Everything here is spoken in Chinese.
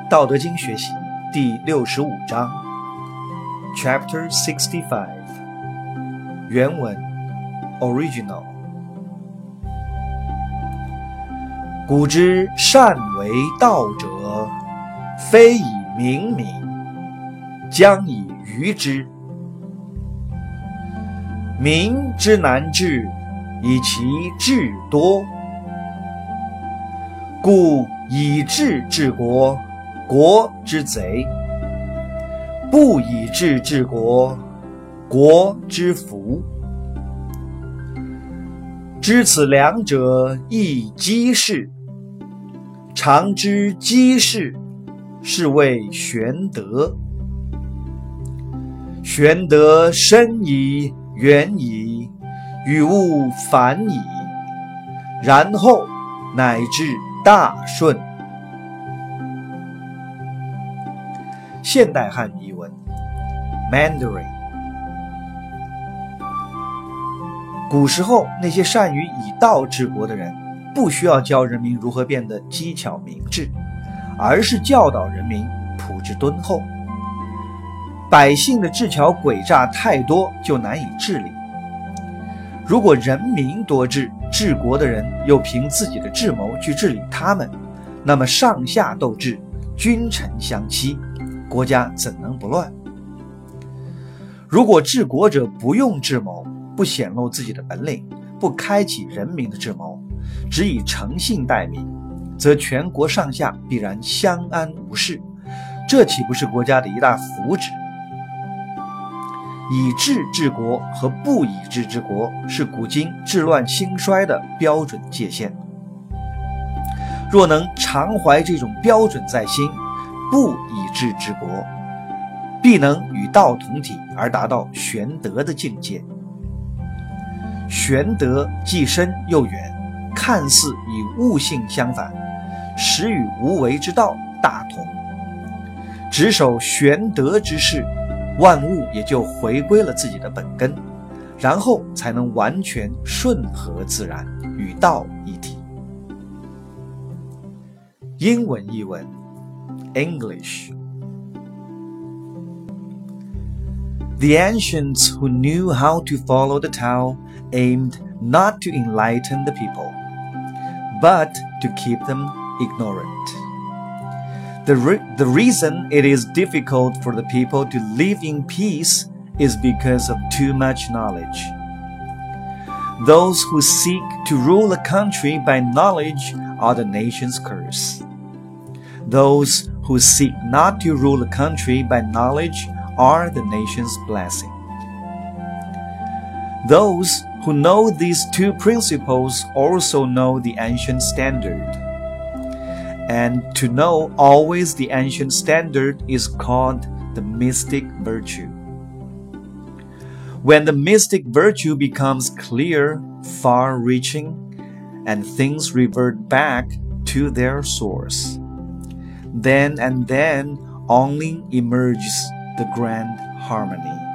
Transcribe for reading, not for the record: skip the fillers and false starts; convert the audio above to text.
道德经学习第65章 Chapter 65 原文 Original 古之善为道者，非以明民，将以愚之。民之难治，以其智多。故以智治国，国之贼；不以智治国，国之福。知此两者，亦稽式。常知稽式，是谓玄德。玄德深矣，远矣，与物反矣，然后乃至大顺。现代汉语译文 Mandarin。 古时候那些善于以道治国的人，不需要教人民如何变得机巧明智，而是教导人民朴质敦厚。百姓的智巧诡诈太多，就难以治理。如果人民多智，治国的人又凭自己的智谋去治理他们，那么上下斗智，君臣相欺，国家怎能不乱？如果治国者不用智谋，不显露自己的本领，不开启人民的智谋，只以诚信待民，则全国上下必然相安无事，这岂不是国家的一大福祉？以智治国和不以智治国，是古今治乱兴衰的标准界限。若能常怀这种标准在心，不以智治国，必能与道同体，而达到玄德的境界。玄德既深又远，看似与悟性相反，实与无为之道大同。只守玄德之事，万物也就回归了自己的本根，然后才能完全顺和自然，与道一体。英文译文 English。 The ancients who knew how to follow the Tao aimed not to enlighten the people, but to keep them ignorant. The reason it is difficult for the people to live in peace is because of too much knowledge. Those who seek to rule a country by knowledge are the nation's curse. Those who seek not to rule a country by knowledge are the nation's blessing. Those who know these two principles also know the ancient standard. And to know always the ancient standard is called the mystic virtue. When the mystic virtue becomes clear, far-reaching, and things revert back to their source, then and then only emerges the grand harmony.